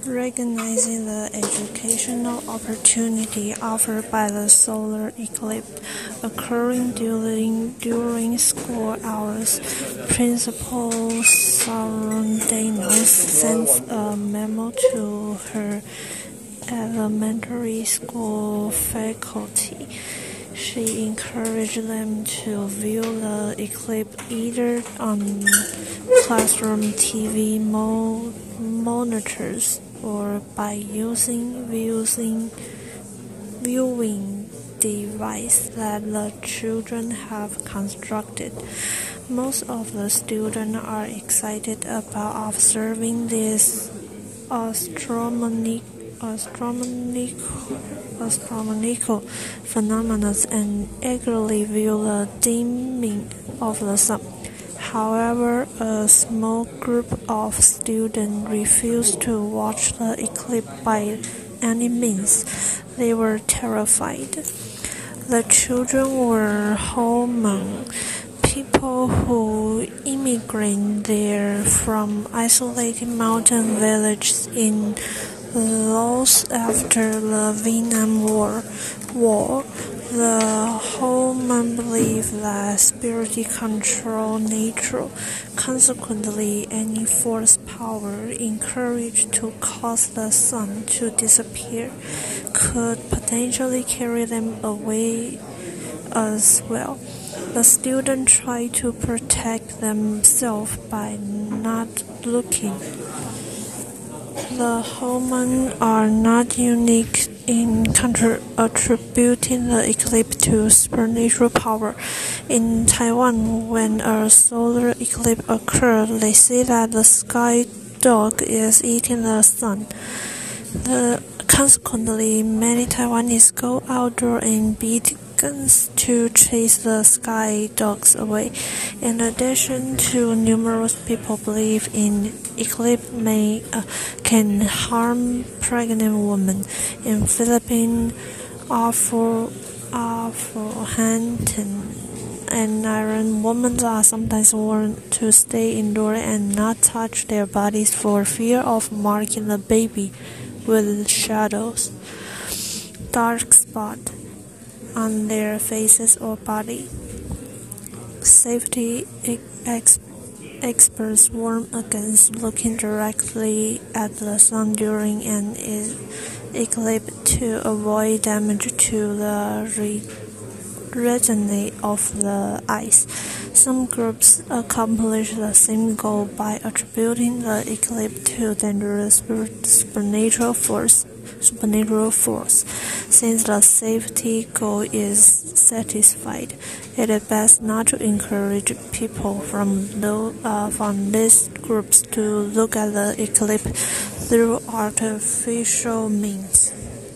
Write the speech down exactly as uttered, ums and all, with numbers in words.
Recognizing the educational opportunity offered by the solar eclipse occurring during, during school hours, Principal Sarondanos sends a memo to her elementary school faculty. She encouraged them to view the eclipse either on classroom T V mo- monitors or by using using viewing device that the children have constructed. Most of the students are excited about observing this astronomical astronomical astronomical phenomena and eagerly view the dimming of the sun. However, a small group of students refused to watch the eclipse by any means. They were terrified. The children were Hmong, people who immigrated there from isolated mountain villages in Laos after the Vietnam War. War. The Hmong believe that spirit control nature. Consequently, any force power encouraged to cause the sun to disappear could potentially carry them away as well. The students try to protect themselves by not looking. The Hmong are not unique in attributing the eclipse to supernatural power. In Taiwan, when a solar eclipse occurs, they say that the sky dog is eating the sun. The, consequently, many Taiwanese go outdoor and beat guns to chase the sky dogs away. In addition to numerous people believe in eclipse may uh, can harm pregnant women. In Philippines, Afro Afro-Hanton and Iran women are sometimes warned to stay indoors and not touch their bodies for fear of marking the baby with shadows, dark spot on their faces or body. Safety ex- experts warn against looking directly at the sun during an e- eclipse to avoid damage to the re- retina of the eyes. Some groups accomplish the same goal by attributing the eclipse to dangerous supernatural force. supernatural force. Since the safety goal is satisfied, it is best not to encourage people from, the, uh, from these groups to look at the eclipse through artificial means.